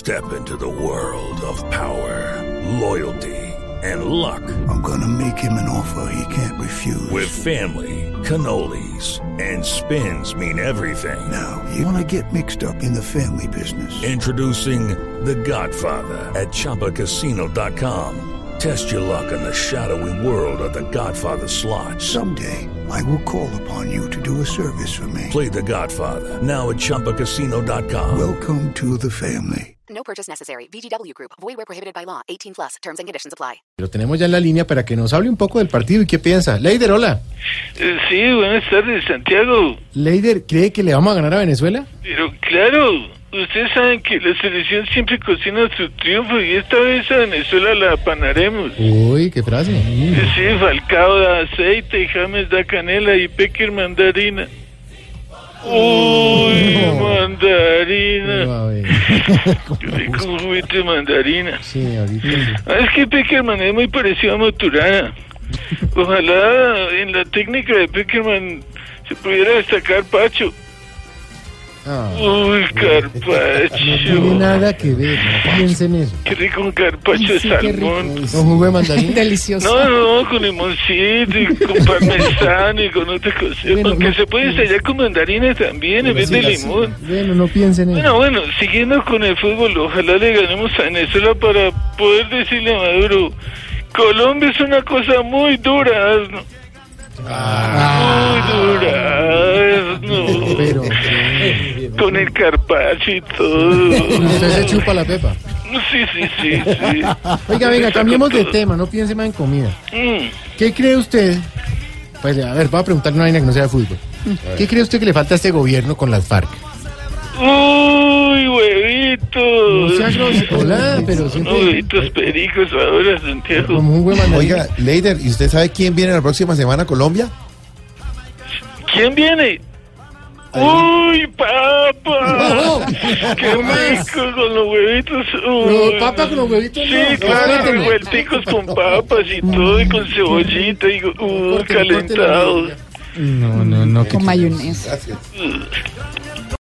Step into the world of power, loyalty, and luck. I'm gonna make him an offer he can't refuse. With family, cannolis, and spins mean everything. Now, you wanna get mixed up in the family business. Introducing The Godfather at ChumbaCasino.com. Test your luck in the shadowy world of The Godfather slot. Someday, I will call upon you to do a service for me. Play The Godfather, now at ChumbaCasino.com. Welcome to the family. No purchase necessary. VGW Group. Void where prohibited by law. 18+. Terms and conditions apply. Lo tenemos ya en la línea para que nos hable un poco del partido y qué piensa. Leider, hola. Sí, buenas tardes, Santiago. Leider, ¿cree que le vamos a ganar a Venezuela? Pero claro, ustedes saben que la selección siempre cocina su triunfo y esta vez a Venezuela la apanaremos. Uy, qué frase. Sí, Falcao da aceite, James da canela y Pecker mandarina. Uy, No. mandarina. No, a ver. Qué rico un juguete de mandarina. Sí, ahorita sí. Es que Peckerman es muy parecido a Maturana. Ojalá en la técnica de Peckerman se pudiera destacar Pacho. Ah, Uy, no tiene carpacho. nada que ver, no piensen en eso. Qué rico un carpacho de Sí, qué rico. salmón. ¿Con jugo de mandarín? Delicioso. No, con limoncito y con parmesano y con otra cosa. Bueno, Aunque no- se puede estallar con mandarina también en vez de limón. Bueno, no piensen en eso. Bueno, siguiendo con el fútbol, ojalá le ganemos a Venezuela para poder decirle a Maduro, Colombia es una cosa muy dura, ¿no? Muy dura, ¿no? Pero, Con el carpacho y todo. usted se chupa la pepa. Sí. Oiga, venga, cambiemos de tema, no piense más en comida. Mm. ¿Qué cree usted? Pues, a ver, voy a preguntarle una vaina que no sea de fútbol. ¿Qué cree usted que le falta a este gobierno con las FARC? Uy, No huevitos. sea grosero. Hola, pero siempre... Huevitos pericos ahora, Santiago. Como un buen mandarín. Oiga, Leider, ¿y usted sabe quién viene la próxima semana a Colombia? ¿Quién viene? ¡Uy, papa! No, ¡Qué no más. rico con los huevitos! No, Uy. papa con los huevitos, Sí, no. claro, Córteme. revuelticos con papas y todo, y con cebollita, y Córteme, calentados. córteme. No, Con mayonesa. Gracias.